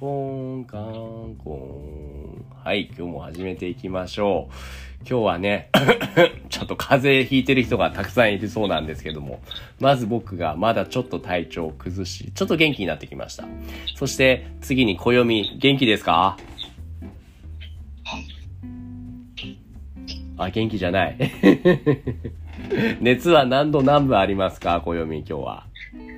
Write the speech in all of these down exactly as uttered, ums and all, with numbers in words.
コンカンコン。はい、今日も始めていきましょう。今日はねちょっと風邪ひいてる人がたくさんいるそうなんですけども、まず僕がまだちょっと体調を崩し、ちょっと元気になってきました。そして次に暦、元気ですか？あ、元気じゃない熱は何度何分ありますか？暦、今日は。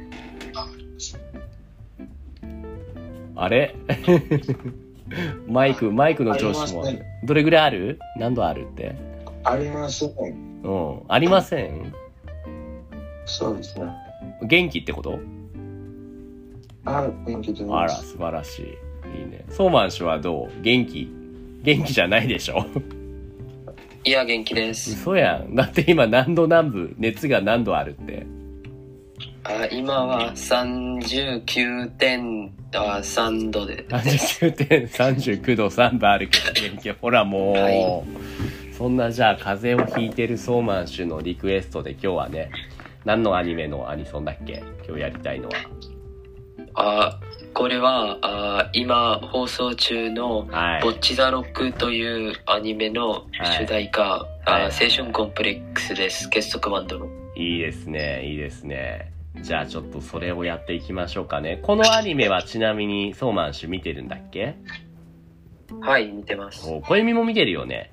あれマイク、マイクの調子もある。どれぐらいある？何度あるって？ ありません。 うん。ありません？ そうですね。 元気ってこと？ あ、元気です。 あら、素晴らしい。いいね。ソーマン氏はどう？元気？元気じゃないでしょいや、元気です。 嘘やん。だって今何度何分、熱が何度あるって。 あ、今は さんじゅうきゅうてんさん 度で。 さんじゅうきゅうてんさんじゅうきゅうどさんぶんあるけど元気。ほらもう、はい、そんなじゃあ風邪をひいてるソーマン氏のリクエストで今日はね、何のアニメのアニソンだっけ？今日やりたいのは。 あ、これはあ今放送中の、はい、ボッチザロックというアニメの主題歌、はい、あ、はい、青春コンプレックスです。結束バンドの。 いいですね、いいですね。じゃあちょっとそれをやっていきましょうかね。このアニメはちなみにソーマン氏見てるんだっけ？ はい、見てます。 お、小弓も見てるよね。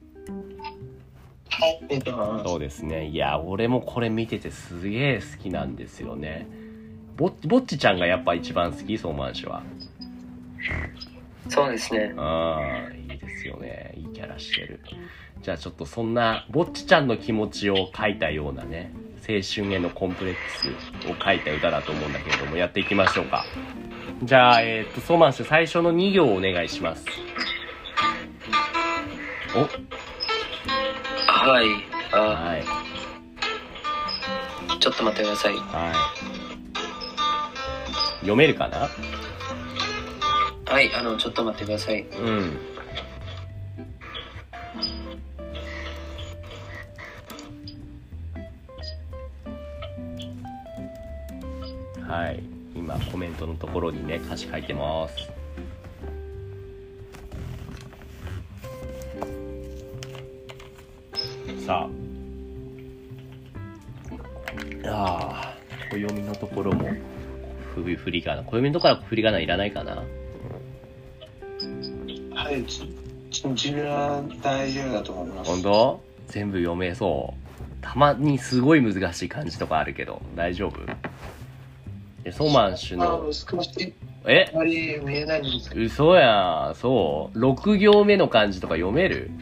はい、見てます。 そうですね。いや、俺もこれ見ててすげえ好きなんですよね。ぼ、ぼっちちゃんがやっぱ一番好き？ソーマン氏は。 そうですね。 ああ、いいですよね。いいキャラしてる。じゃあちょっとそんなぼっちちゃんの気持ちを書いたようなね、青春へのコンプレックスを書いた歌だと思うんだけれども、やっていきましょうか。じゃあ、えー、っとソーマン氏最初のに行をお願いします。お、 はい、あ、 はい、 ちょっと待ってください。 はい、読めるかな？ はい、あのちょっと待ってください。 うん。はい、今コメントのところにね歌詞書いてます。さあ、ああ、暦のところもふ振り仮名、暦のところは振り仮名いらないかな。 はい、自分は大丈夫だと思います。 本当？全部読めそう。たまにすごい難しい漢字とかあるけど大丈夫？ソーマン氏の少しえあまり見えないんですけど。 嘘やん。そうろく行目の漢字とか読める？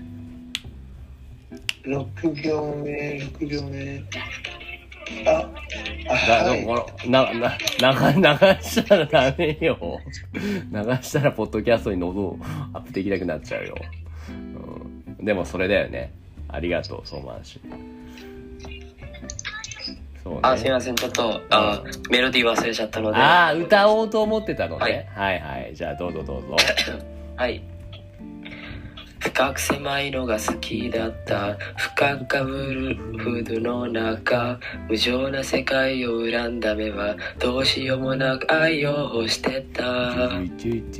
ろく行目、ろく行目。あ、あ、 はい、な、な、な、流したらダメよ。流したらポッドキャストに喉アップできなくなっちゃうよ。うん、でもそれだよね。ありがとう、ソーマン氏。ね、 あ、すいません、ちょっと、あ、うん、メロディー忘れちゃったので。 ああ、歌おうと思ってたのね。はい、はいはい。じゃあどうぞどうぞ。 はい。深く狭いのが好きだった。深くかぶるフードの中。無情な世界を恨んだ目はどうしようもなく愛を欲してた。 い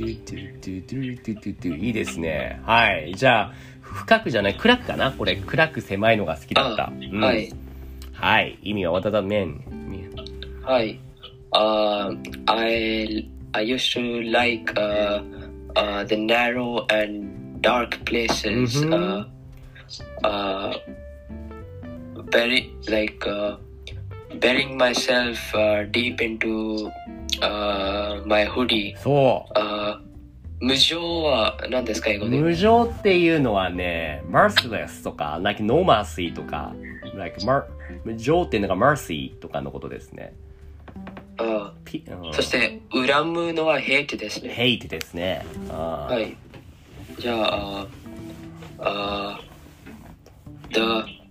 いですね。はい。じゃあ、深くじゃない、暗くかな？これ、暗く狭いのが好きだった。うん、 はい。 はい。意味は What does that mean? はい。Uh, I, I used to like uh, uh, the narrow and dark places. Mm-hmm. Uh, uh, bury, like uh, burying myself uh, deep into uh, my hoodie. そう。 Uh, 無情は何ですか、英語で？ 無情っていうのはね、merciless とか、like no mercy とか、like mar- 無情っていうのが mercy とかのことですね。 ああ、うん、そして恨むのは hate ですね。 hate ですね。あ、 はい。じゃあ、あ、the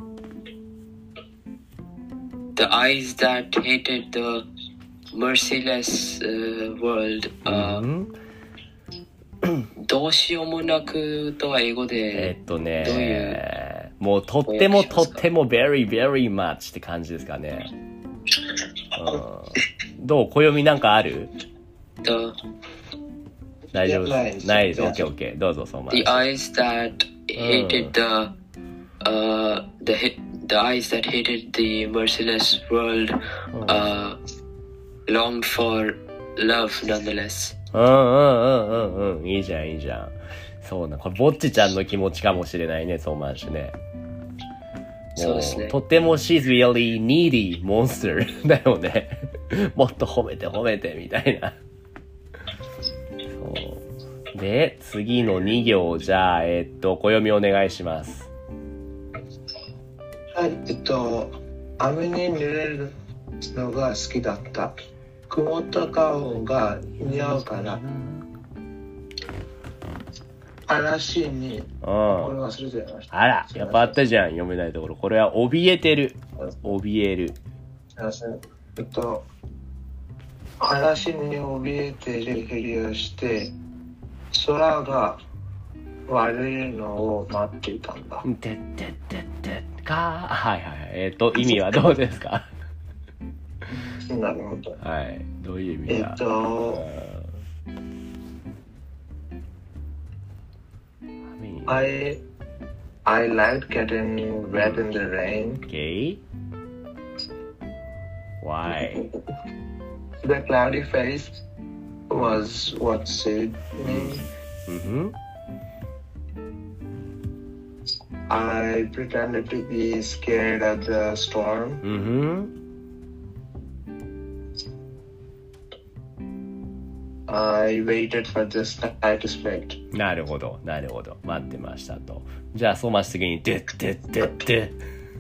the eyes that hated the merciless、uh, world、uh, どうしようもなくとは英語で、 えっとね、どういうもうとってもとっても very very much って感じですかね。うん、どう？暦なんかある？ the 大丈夫ないです。ないです。オッケーオッケー。どうぞ、そうま The eyes that hated the uh the hit the eyes that hated the merciless world uh longed for love nonetheless. うんうんうんうんうん。いいじゃんいいじゃん。そうな。これぼっちちゃんの気持ちかもしれないね、そうまんしね。 そうですね。 とっても she's really needy monster だよね。もっと褒めて褒めてみたいな。そうで、次のに行じゃあ、えー、っと、小読みお願いします。 はい、えっと、雨に濡れるのが好きだった。曇った顔が似合うから。嵐に、これ忘れてました。 あら、やっぱあったじゃん、読めないところ。これは怯えてる。怯える。 えっと、嵐に怯えてるふりをして、空が悪いのを待っていたんだ。 てってってってか。はいはいはい。えっと、意味はどうですか？ なるほど。 はい。どういう意味だ？ えっと、I I liked getting wet in the rain. Okay. Why? The cloudy face was what suited me. Mm-hmm. I pretended to be scared of the storm. Mm-hmm. I waited for the sky to split. なるほど、なるほど。待ってましたと。じゃあ、そうまし次に、でってってって。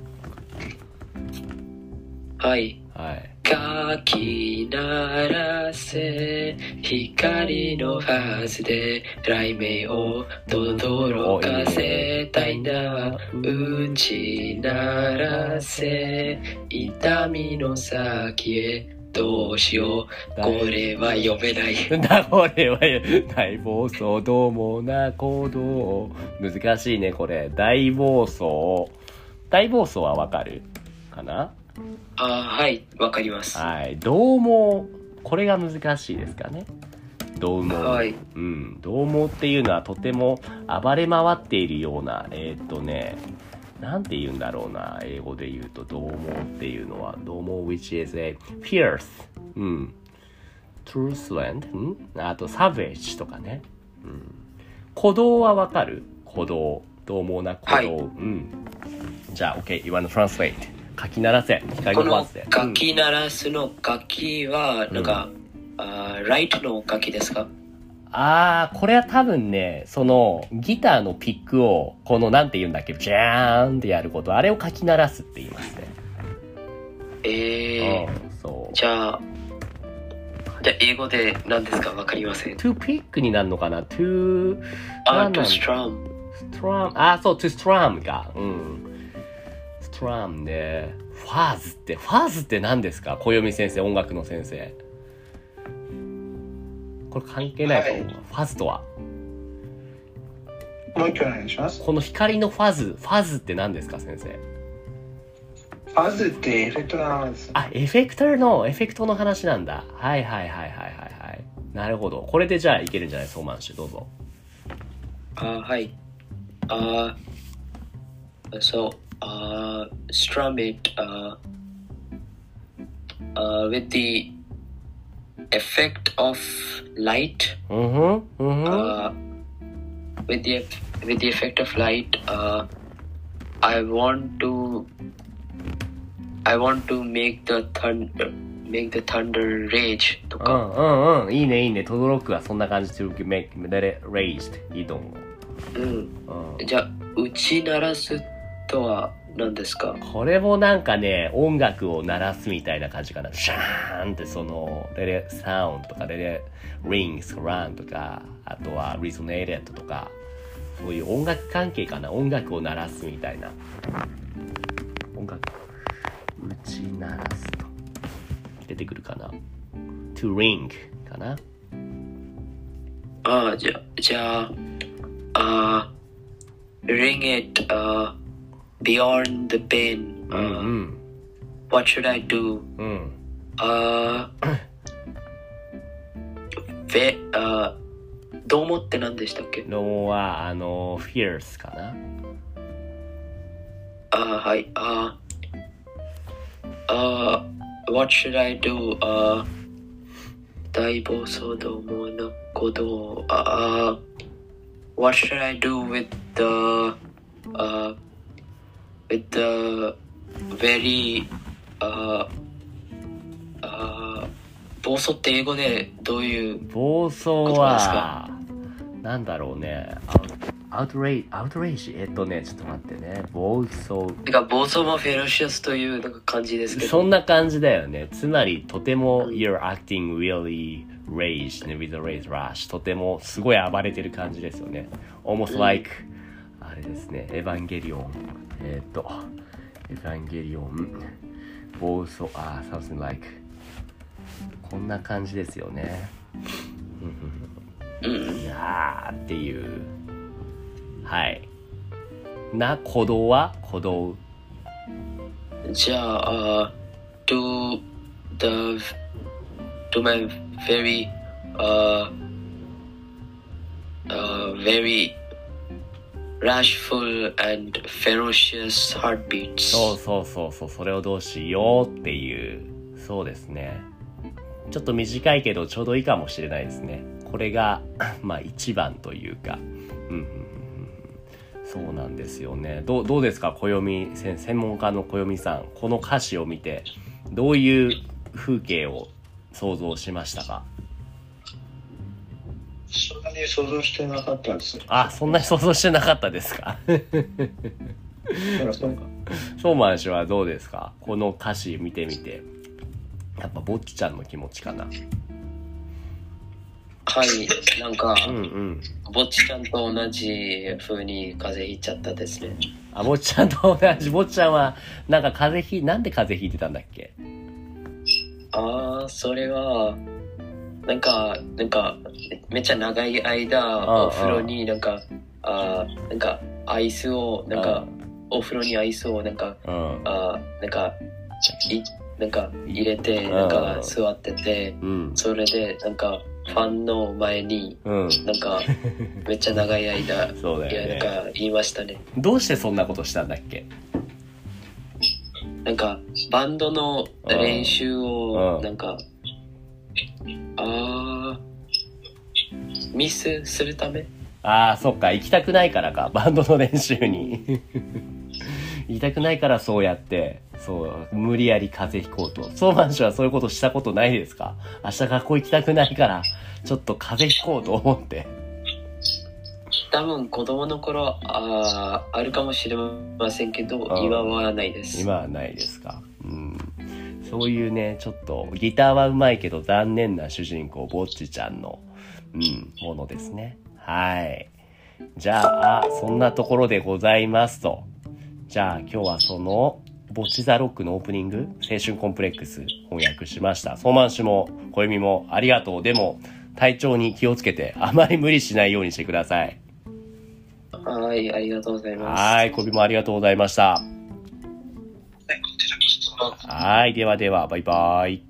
はい。 はい。 かき鳴らせ光のはずで雷鳴を轟かせたいな。打ち鳴らせ痛みの先へどうしよう。これは読めない。 だ、これは大暴走どうもな行動。難しいね、これ。大暴走。大暴走はわかるかな？ あ、はい、わかります。 はい。獰猛。これが難しいですかね。獰猛。 はい。 うん。獰猛っていうのはとても暴れ回っているような、えー、っとね、なんて言うんだろうな。英語で言うと、獰猛っていうのは、獰猛 which is a fierce。うん。truculent。んあと、savage とかね。うん。鼓動はわかる？鼓動。獰猛な鼓動。はい、うん。じゃあ、OK。You wanna translate。かき鳴らせ。光のファースで。 かき鳴らすのかきは、なんか、うん、あライトのかきですか？ あー、これは多分ね、その、ギターのピックを、この、なんて言うんだっけ、ジャーンってやること、あれをかき鳴らすって言いますね。 えー、うん、そう。じゃあ、じゃあ英語で何ですか？わかりません。 to pick になるのかな？ to、 あ、to strum。 strum。あ、そう、to strum か。うん。strum ね。ファーズって、ファーズって何ですか？小読先生、音楽の先生。これ関係ないか、はい、ファズとは。 もう一回お願いします。 この光のファズ、ファズって何ですか、先生？ ファズってエフェクトなんです。 あ、エフェクターの、エフェクトの話なんだ。はいはいはいはいはいはい。なるほど。これでじゃあいけるんじゃない？ソーマンシュ、どうぞ。 あ、はい。あ、そう、あ、strum it、uh, uh, with the effect of light. Mm-hmm. Mm-hmm. Uh, with the with the effect of light, uh, I want to I want to make the thunder make the thunder rage とか。 うんうんうん。いいねいいね。とどろくはそんな感じで to make let it raged いいと思う。うん。うん、じゃあ打ち鳴らすとは何ですか？ これもなんかね、音楽を鳴らすみたいな感じかな。シャーンってその、レレサウンドとか、レレリングス、ランとか、あとはリゾネイレットとか、そういう音楽関係かな。音楽を鳴らすみたいな。音楽、打ち鳴らすと。出てくるかな。to ring かな。 ああ、じゃ、じゃあ、あ、ring it, あ、beyond the pain. Uh, mm-hmm. What should I do? Mm. Uh, ve- uh, どう思って何でしたっけ？ どうもは、あの、fierce かな。 あーはい。あーあー What should I do? あー大暴走どものことを、あー What should I do with the uh, with the very uh, uh, 暴走って英語でどういう暴走は、なんだろうね。アウトレイ、アウトレイジえっとね、ちょっと待ってね。暴走。 なんか暴走もフェロシアスというなんか感じですけど。 そんな感じだよね。つまり、とても、you're acting really rage with a rage rush。とても、すごい暴れてる感じですよね。almost like、うん、あれですね、エヴァンゲリオン。えっと、エヴァンゲリオン。暴走、あ、something like。こんな感じですよね。 うん。 いやーっていう。はい。な、鼓動は鼓動。 じゃあ、uh, do the do my very uh, uh, very rashful and ferocious heartbeats。 そうそうそうそう、それをどうしようっていう。そうですね。ちょっと短いけどちょうどいいかもしれないですね。これがまあ一番というか、うんうんうん、そうなんですよね。どうどうですか、暦専門家の暦さん、この歌詞を見てどういう風景を想像しましたか？ そんなに想像してなかったです。 あ、そんなに想像してなかったですか？ そうか。 ソーマン氏はどうですか？この歌詞見てみて。やっぱぼっちゃんの気持ちかな。 はい、なんか、 うんうん、 ぼっちちゃんと同じ風に風邪ひいちゃったですね。 あ、ぼっちゃんと同じ。ぼっちゃんはなんか風邪ひなんで風邪ひいてたんだっけ？ ああ、それはなんかなんかめっちゃ長い間お風呂になんかあなんかアイスをなんかお風呂にアイスをなんかあなんかいなんか入れてなんか座ってて、うん、それでなんかファンの前に、うん、なんかめっちゃ長い間そうだよね、いやなんか言いましたね。 どうしてそんなことしたんだっけ？ なんかバンドの練習をなんかあミスするため？ ああ、そっか、行きたくないからか、バンドの練習に行きたくないからそうやってそう無理やり風邪ひこうと。ソーマン氏はそういうことしたことないですか？明日学校行きたくないからちょっと風邪ひこうと思って。 多分子供の頃ああるかもしれませんけど、今はないです。 今はないですか。うん。そういうね、ちょっとギターは上手いけど残念な主人公ぼっちちゃんの、うん、ものですね。はい。じゃあそんなところでございますと。じゃあ今日はそのぼっちザロックのオープニング、青春コンプレックス翻訳しました。ソーマン氏も小弓もありがとう。でも体調に気をつけてあまり無理しないようにしてください。 はい、ありがとうございます。 はい、小弓もありがとうございました。はい、こちらこそ。はい、ではでは、バイバイ。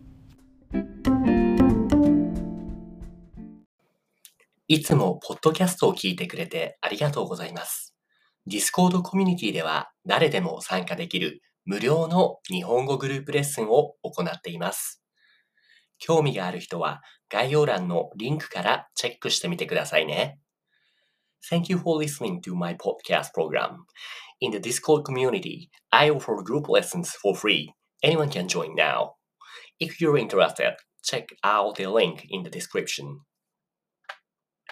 いつもポッドキャストを聞いてくれてありがとうございます。Discord コミュニティでは誰でも参加できる無料の日本語グループレッスンを行っています。興味がある人は概要欄のリンクからチェックしてみてくださいね。Thank you for listening to my podcast program. In the Discord community, I offer group lessons for free. Anyone can join now. If you're interested, check out the link in the description.